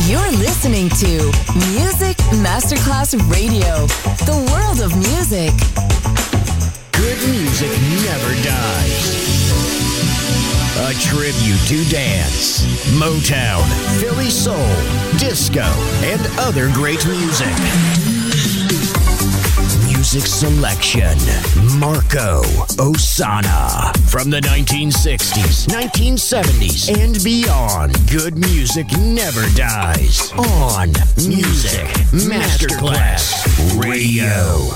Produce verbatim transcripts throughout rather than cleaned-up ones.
You're listening to Music Masterclass Radio, the world of music. Good music never dies. A tribute to dance, Motown, Philly soul, disco, and other great music. Music selection, Marco Ossanna. From the nineteen sixties, nineteen seventies, and beyond, good music never dies. On Music Masterclass Radio.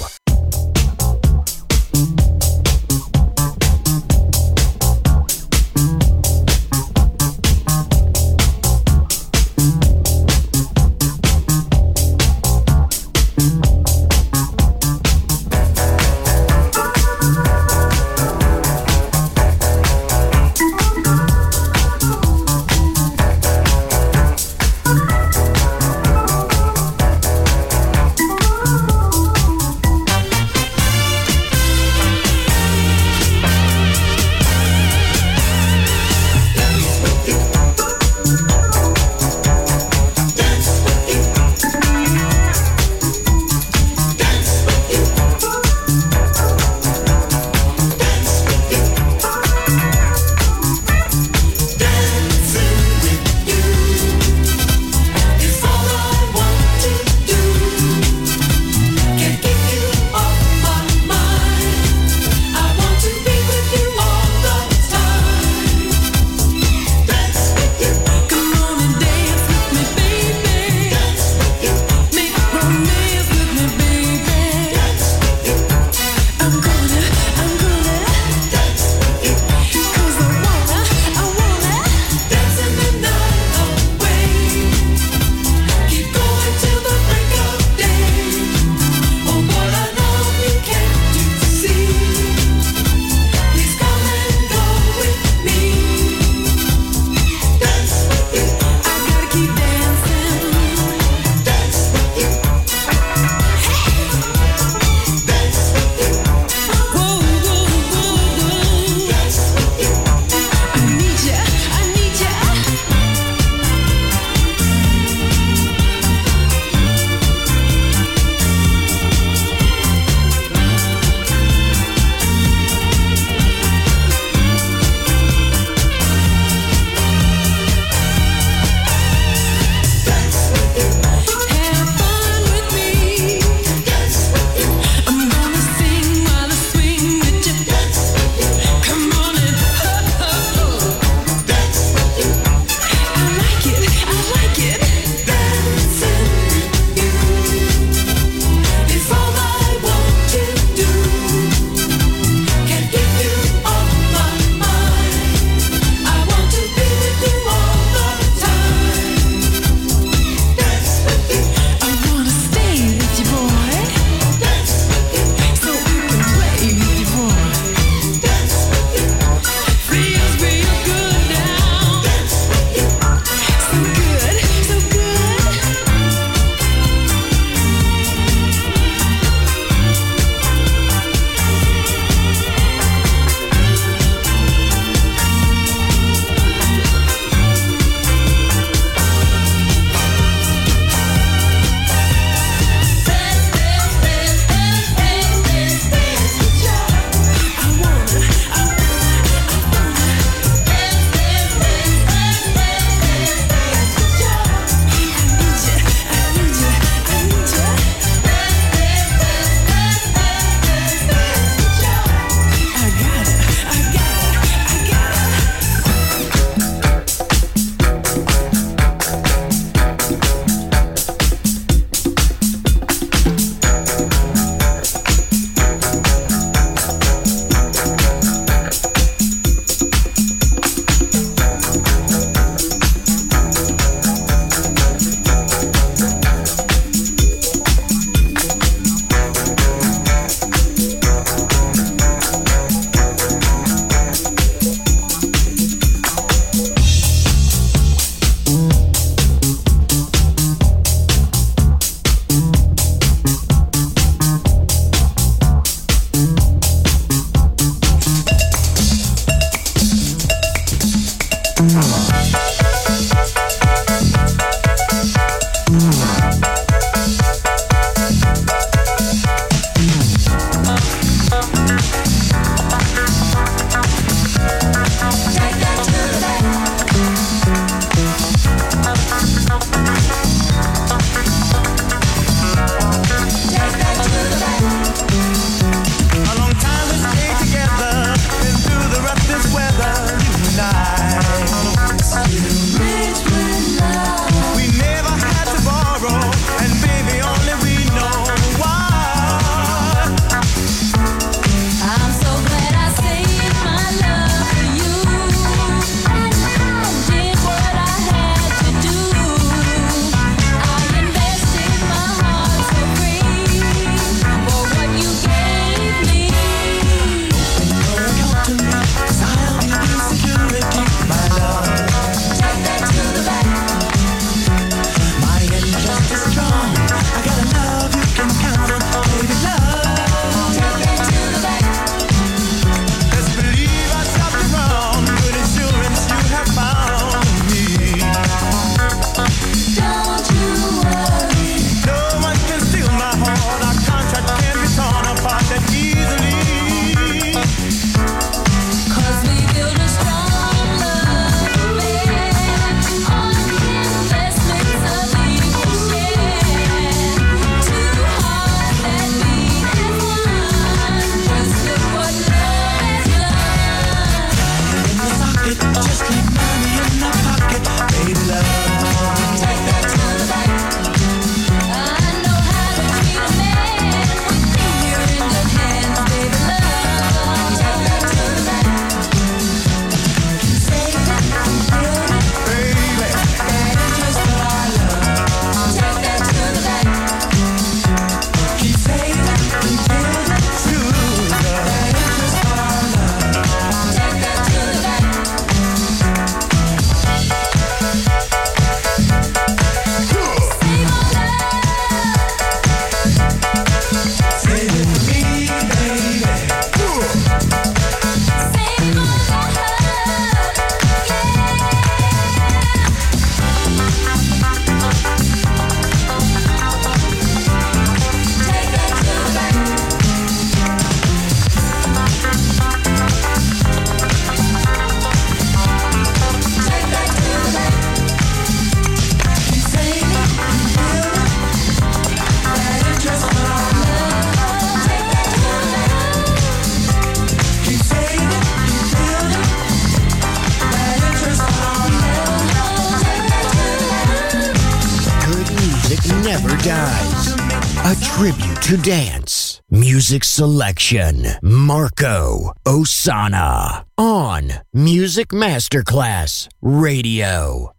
never dies. A tribute to dance. Music selection. Marco Ossanna. On Music Masterclass Radio.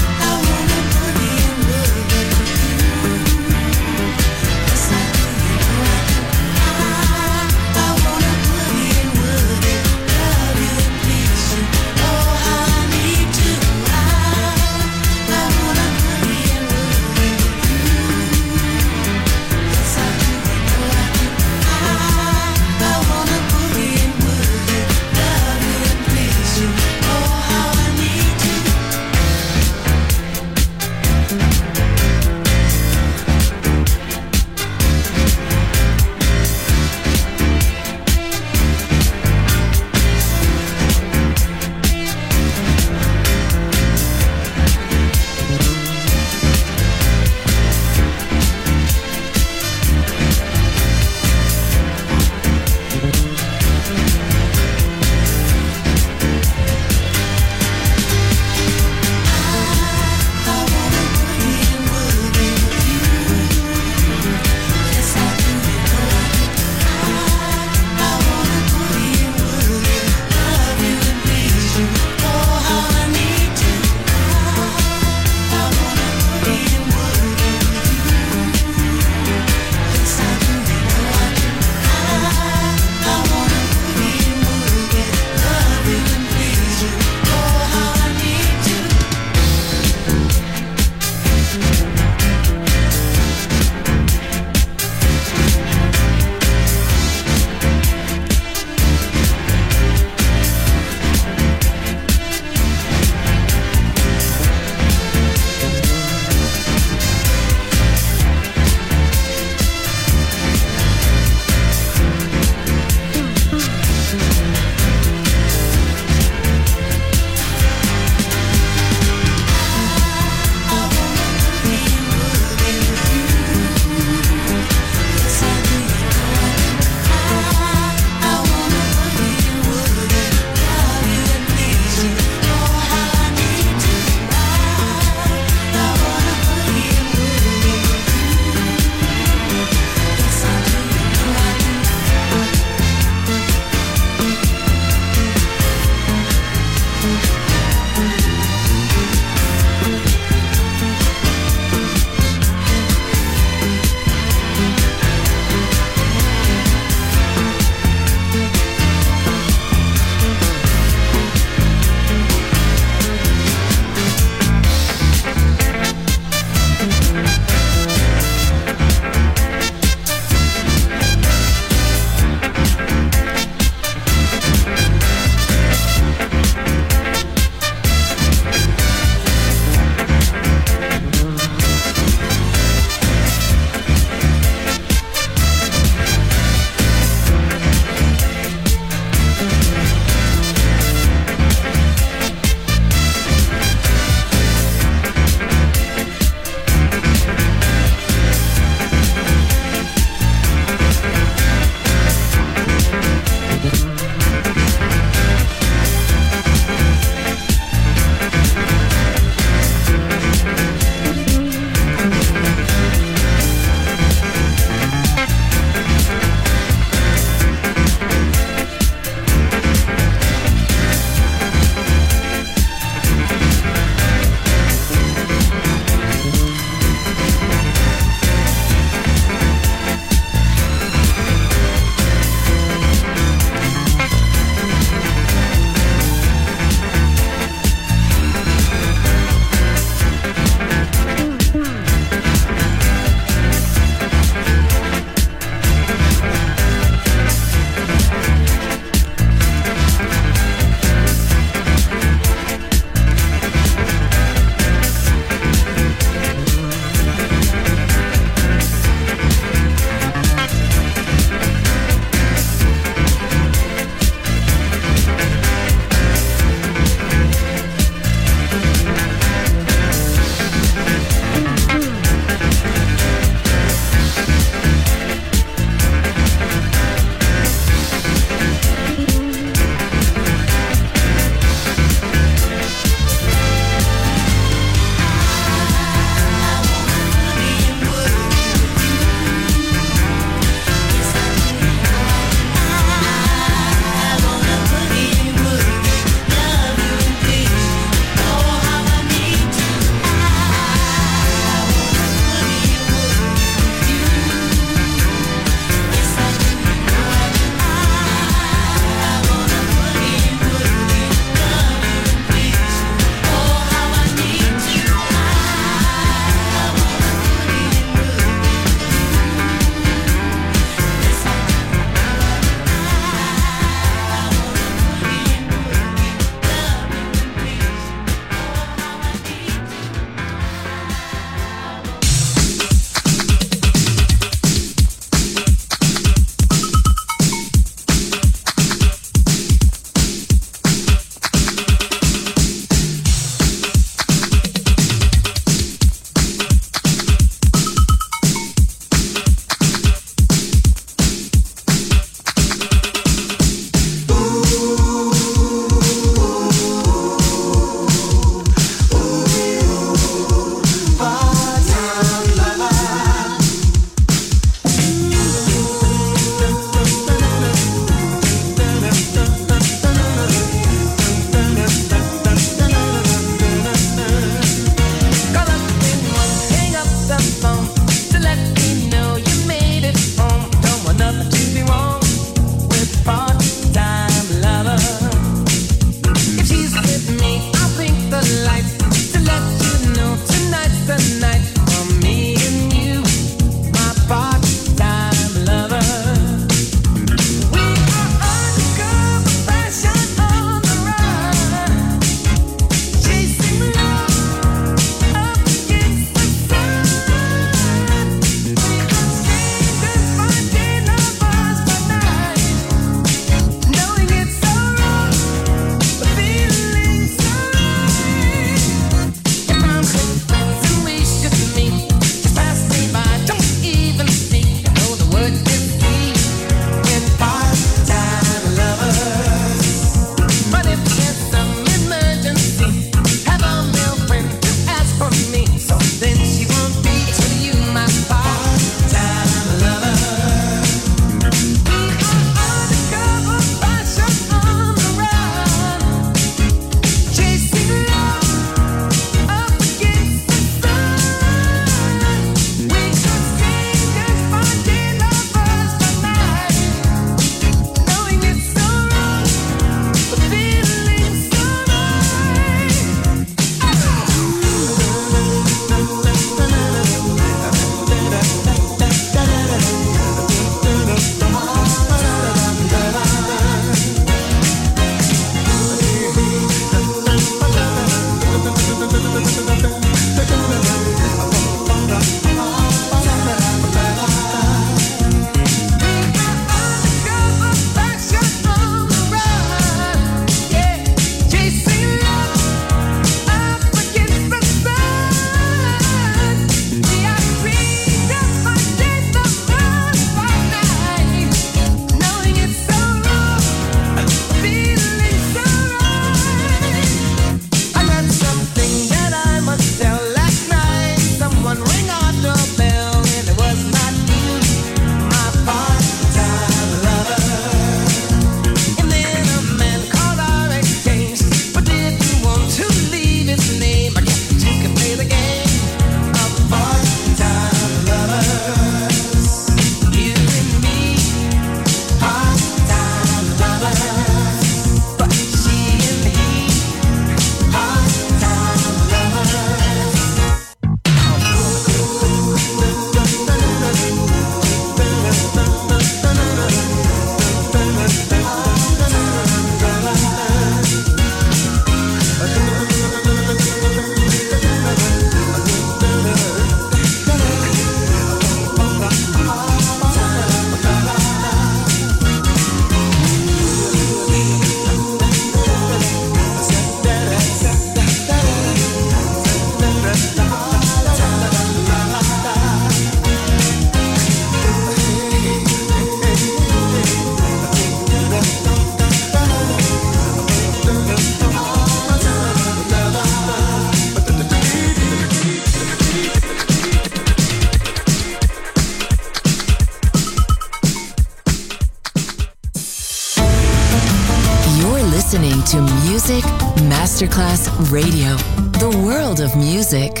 listening to Music Masterclass Radio, the world of music.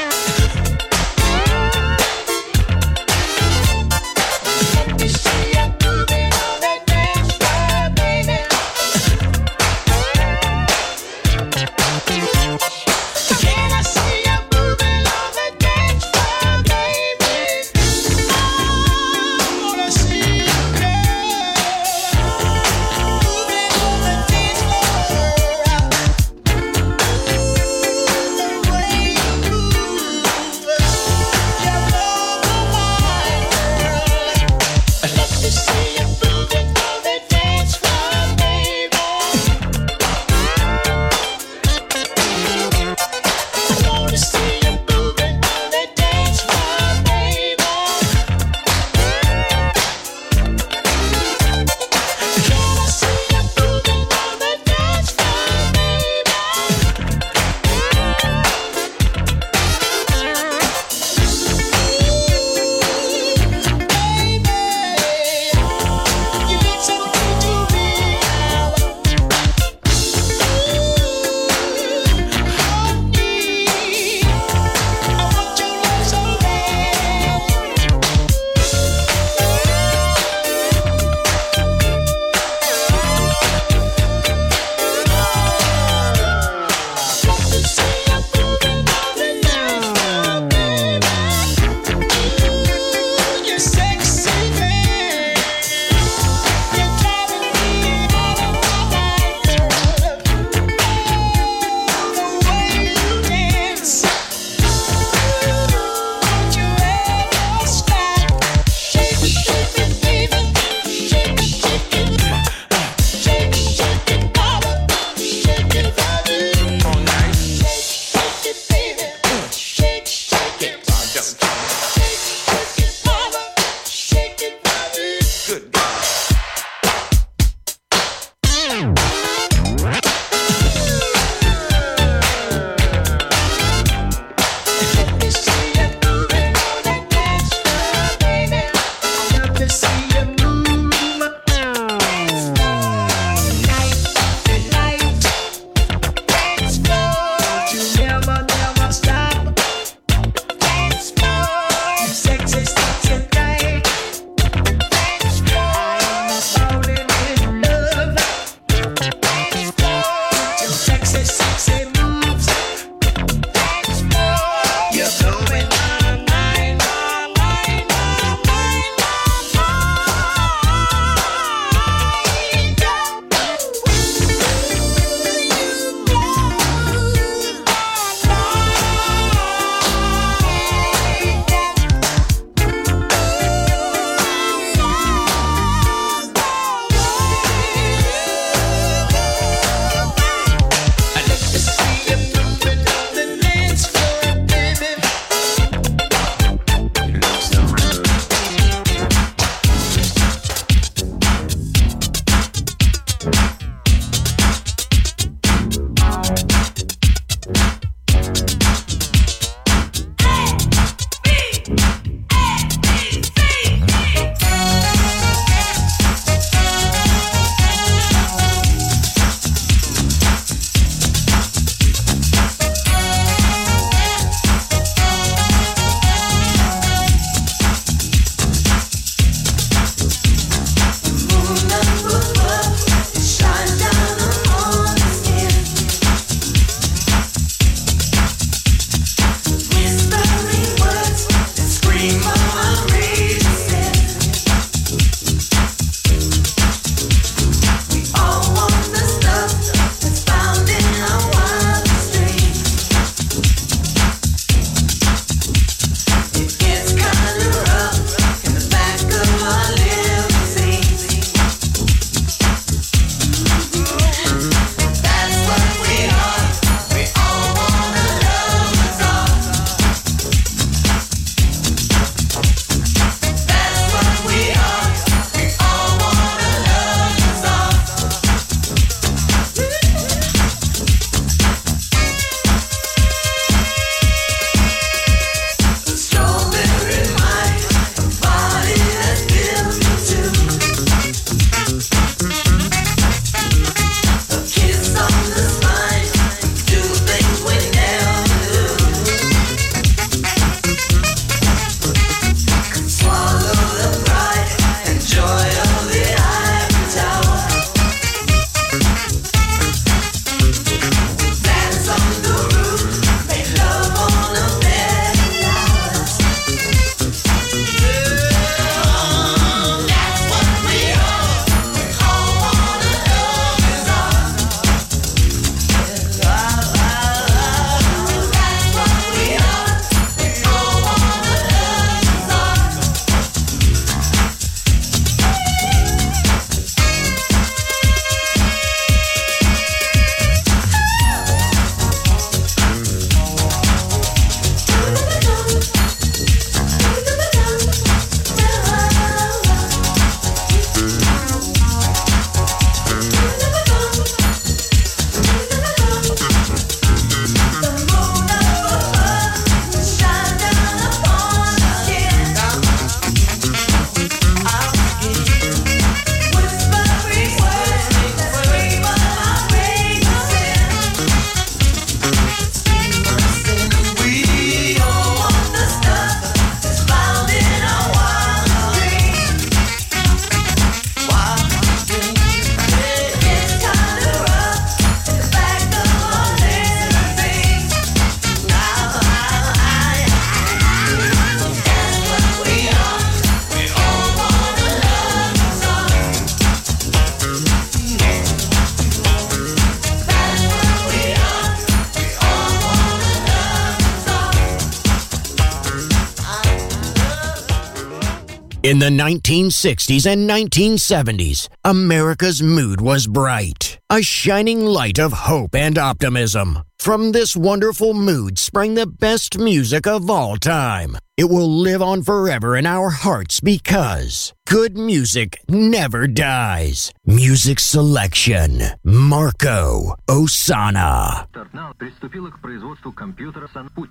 See ya. In the nineteen sixties and nineteen seventies, America's mood was bright, a shining light of hope and optimism. From this wonderful mood sprang the best music of all time. It will live on forever in our hearts because good music never dies. Music selection, Marco Ossanna. Приступила к производству компьютера Санпуть.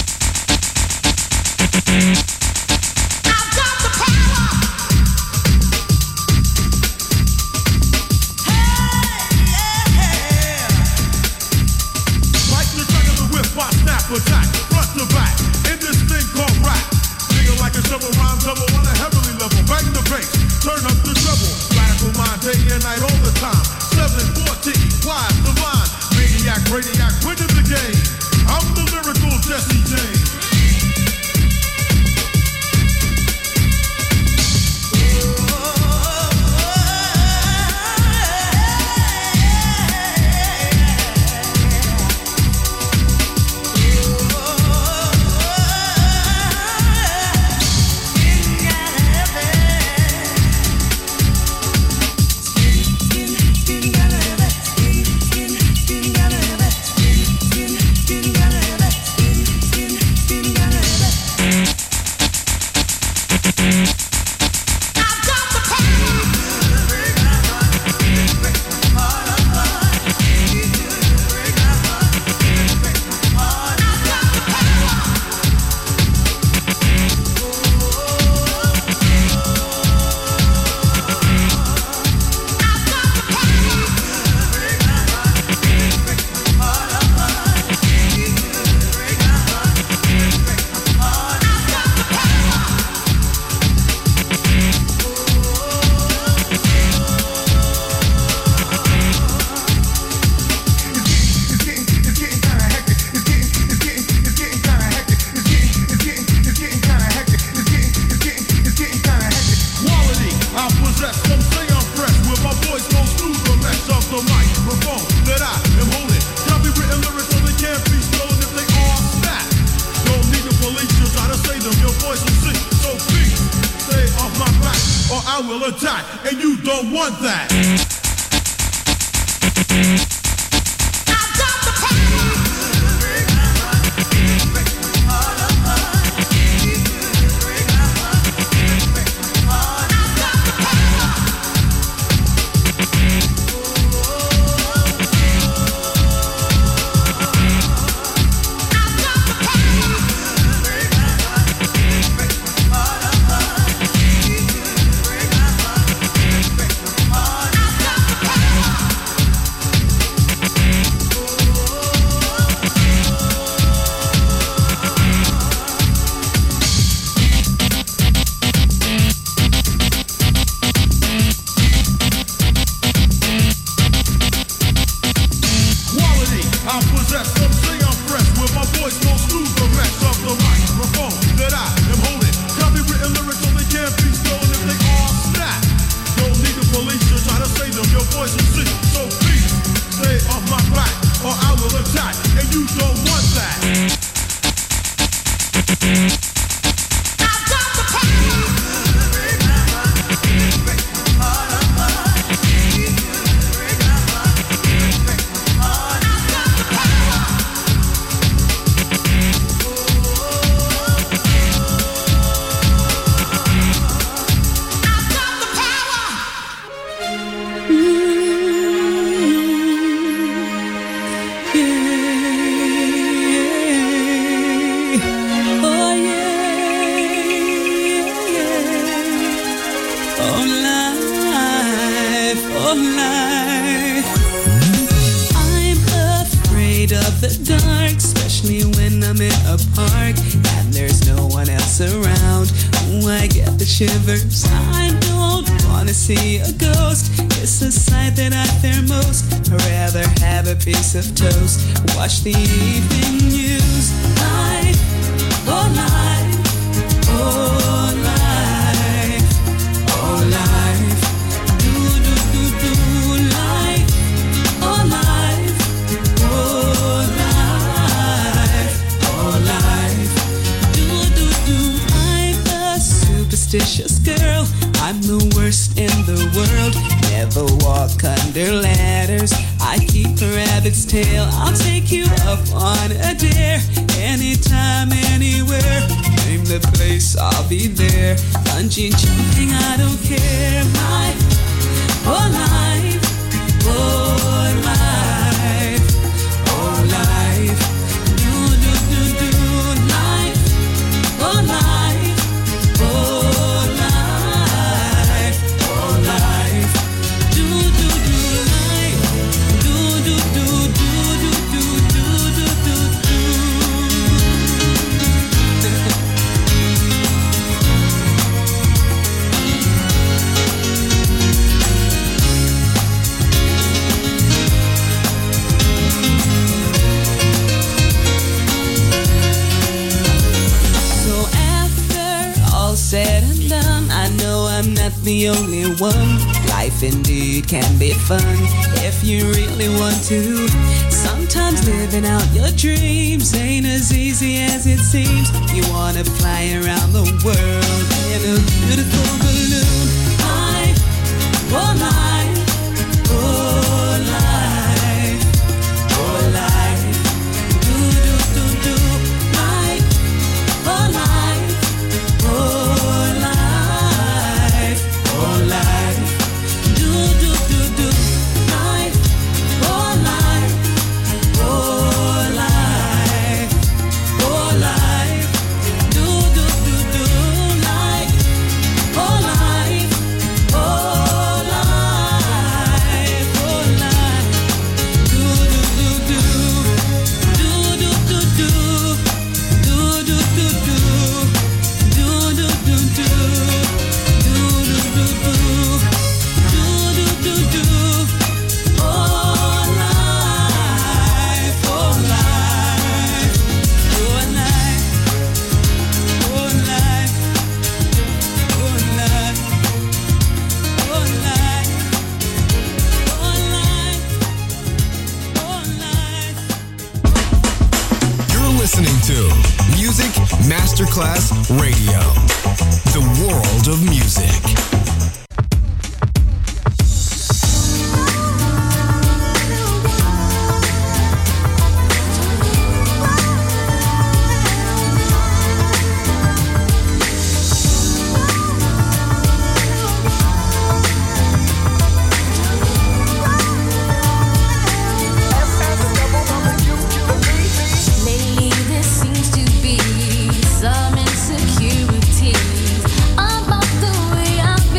Attack, front to back, in this thing called rap. Nigga like a shovel, rhyme double on a heavenly level. Bang the bass, turn up the treble. Radical mind, day and night, all the time. seven fourteen, wise, divine. Maniac, radiac, winning the game. I'm the lyrical Jesse James. Shivers. I don't wanna see a ghost. It's a sight that I fear most. I'd rather have a piece of toast. Watch the evening news. Life, oh life, oh life, oh life. Do do do do life, oh life, oh life, oh life. Do do do. I'm a superstitious girl. I'm the worst in the world. Never walk under ladders. I keep a rabbit's tail. I'll take you up on a dare. Anytime, anywhere. Name the place, I'll be there. Bungee jumping, I don't care. My whole life, whole life, whole life. Do, do, do, do. Life, whole life, whole life, whole life. Do, do, do, life. Do, do, do, do, do, do, do, do, do, said and done, I know I'm not the only one. Life indeed can be fun if you really want to. Sometimes living out your dreams ain't as easy as it seems. You wanna fly around the world in a beautiful balloon. Life, oh life, oh life, oh life. Do, do, do, do. Life, oh life, oh life, oh life. Do, do, do, do. Life, oh life, oh life, oh life. Do, do, do, do. Life, oh life, oh life, oh life. Do, do, do, do. Do, do, do, do. Do, do, do, do. Do, do, do, do. Do, do, do, do. Do, do, do, do. Oh, life, oh, life. Oh, life. Oh, life. Oh, life. Oh, life. Oh, life. Oh, life. You're listening to Music Masterclass Radio, the world of music. Lately there seems to be some insecurities about the way I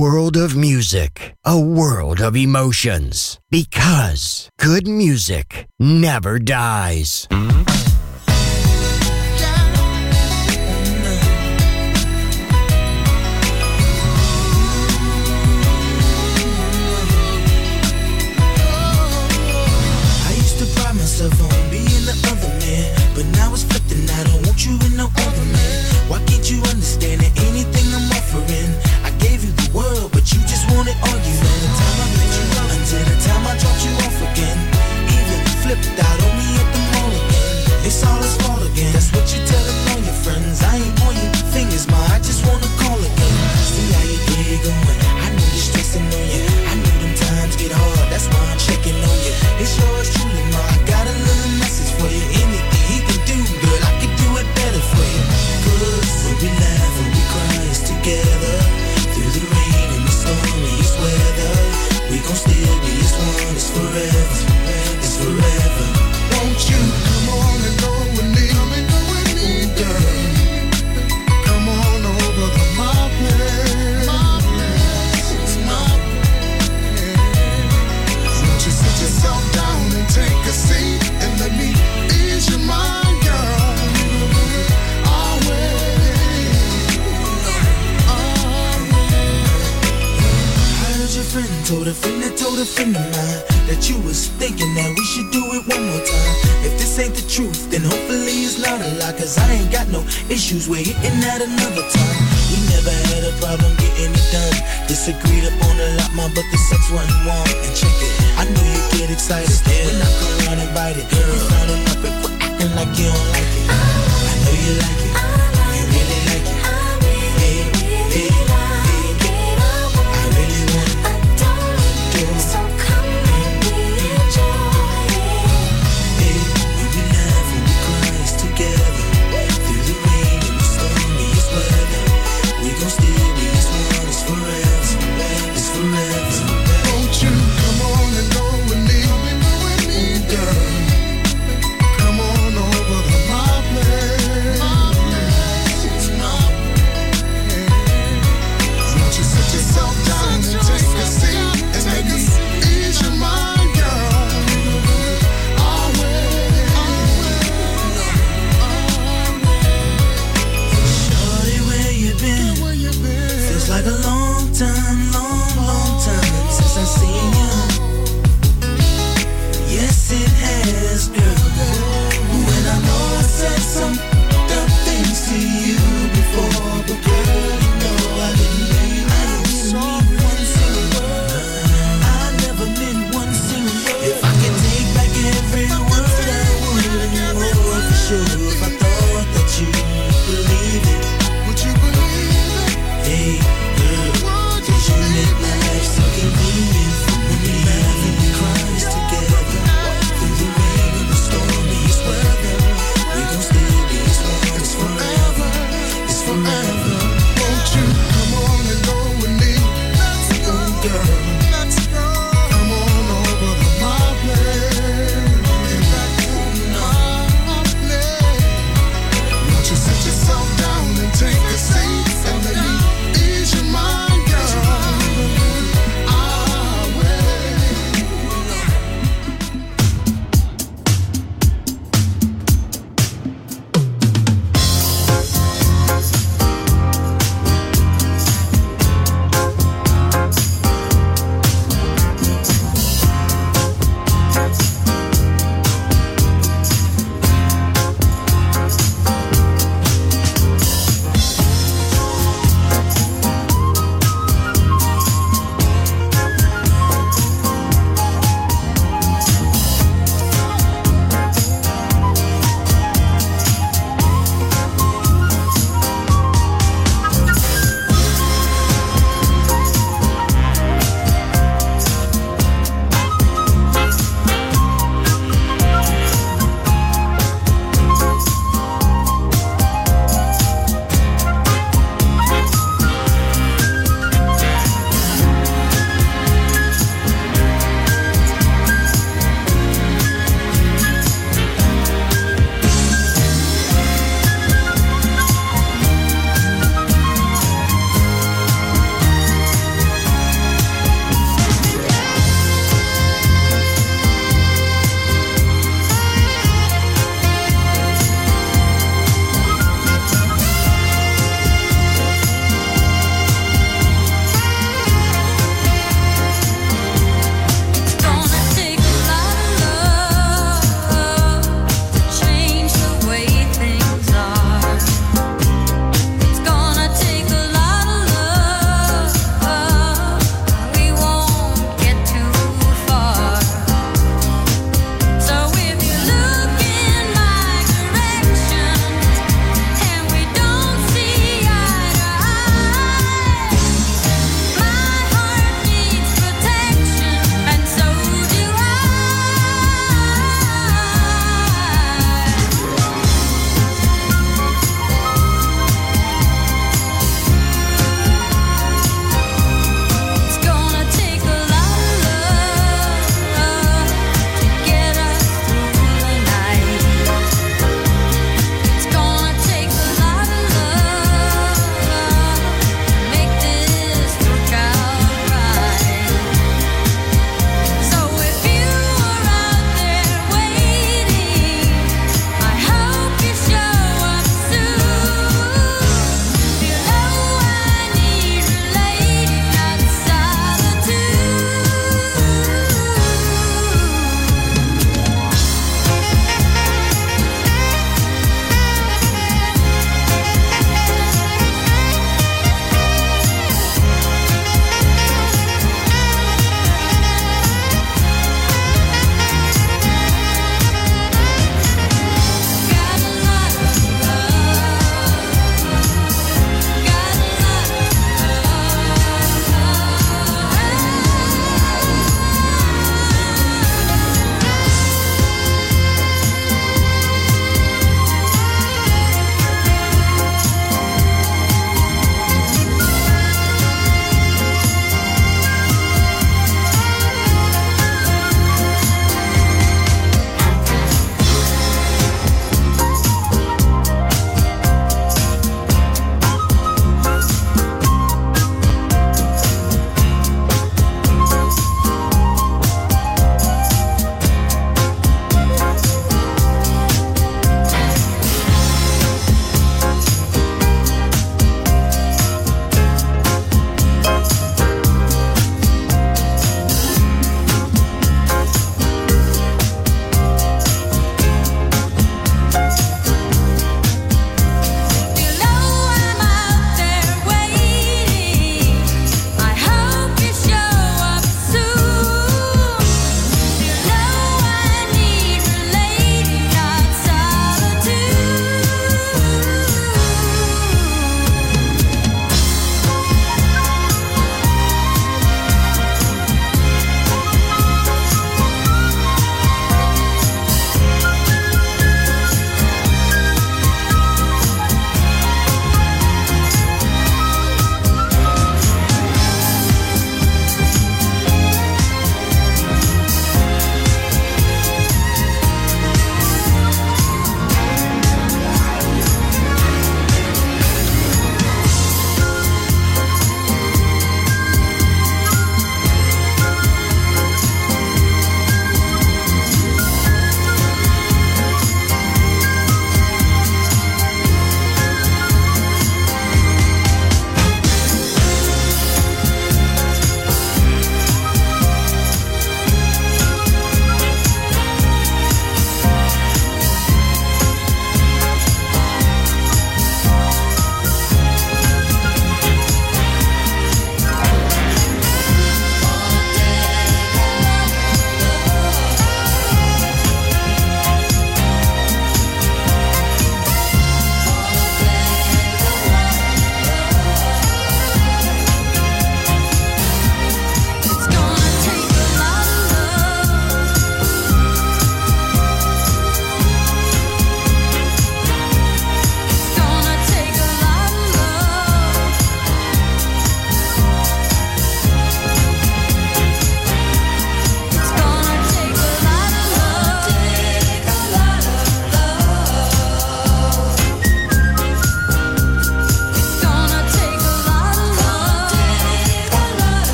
world of music, a world of emotions. Because good music never dies. Myself on being the other man, but now it's flipped and I don't want you in no other man. Why can't you understand that anything I'm offering? I gave you the world, but you just want it all. You from the time I met you up until the time I dropped you off again. Even flipped out on me at the mall again. It's all his fault again. That's what you telling all your friends. I ain't pointing fingers, ma, I just wanna call again. See how you get going. I know you're stressing on you. I know them times get hard. That's why I'm checking on you. It's yours truly, ma. I got a little message for you. Anything he can do, girl, I can do it better for you. Cause when we laugh and we cry, it's together. Through the rain and the stormiest weather, we gon' still be as one. It's forever, it's forever. Won't you come on and go with me? Come and go with me, girl. Come on over to my place. My place, my place. Won't you sit yourself down and take a seat and let me ease your mind, girl? Always, always. I heard your friend told a friend that told a friend of mine that you was thinking that we should do it one more time. If this ain't the truth, then hopefully it's not a lie. Cause I ain't got no issues with hitting that another time. We never had a problem getting it done. Disagreed upon a lot, ma, but the sex wasn't warm. And check it, I know you get excited when I come around and bite it. Girl, you frowning up and quit acting like you don't like it. I know you like it, you really like it. Hey, hey, hey, I really want it. So come and we enjoy it. Hey, when we laugh and we cry, it's together. Through the rain and the stormiest weather, we gon' still be as one. It's forever, it's forever. Won't you come on and go with me? Come and go with me, girl. Come on over to my place.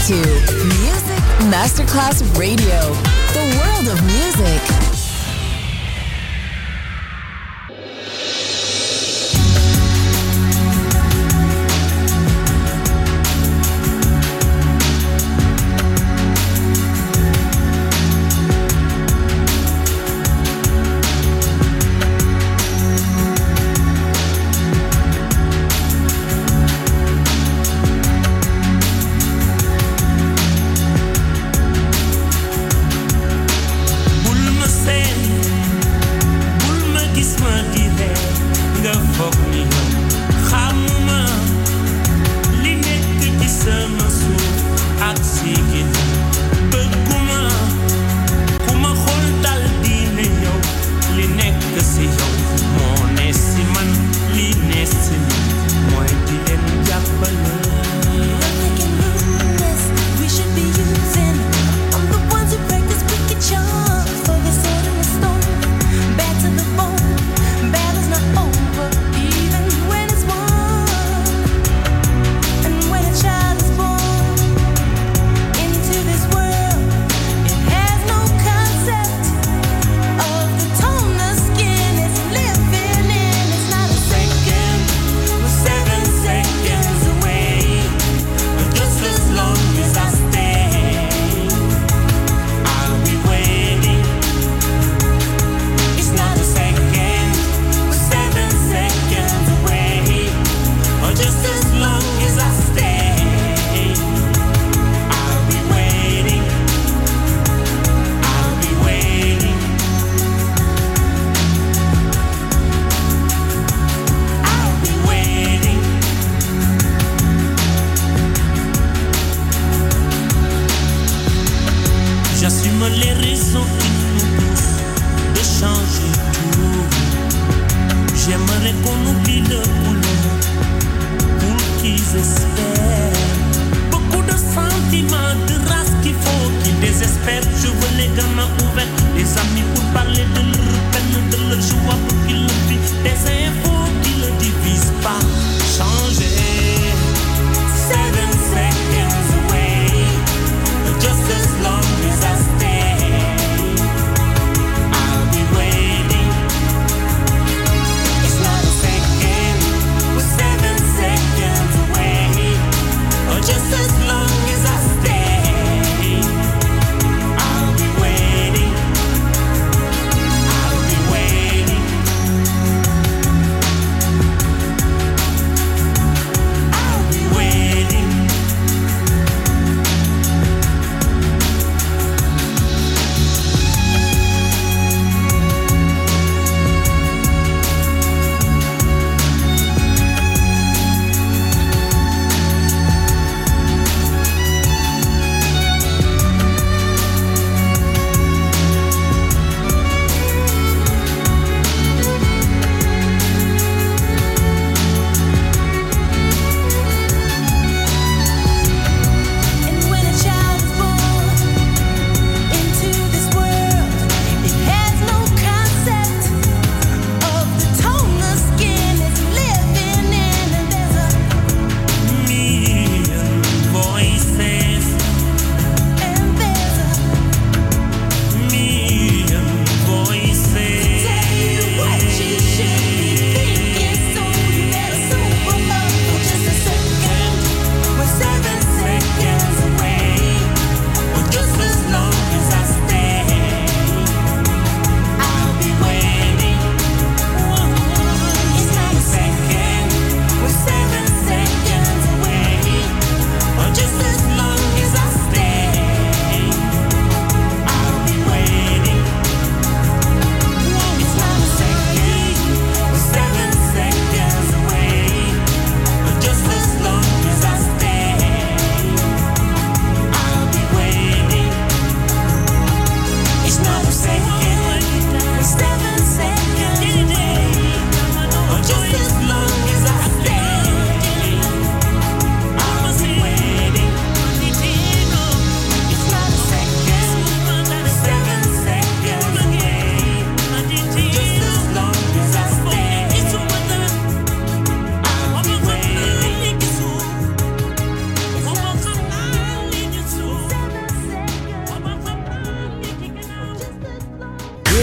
to Music Masterclass Radio, the world of music. Say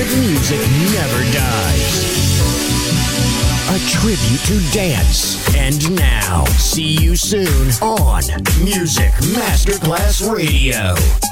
music never dies. A tribute to dance. And now, see you soon on Music Masterclass Radio.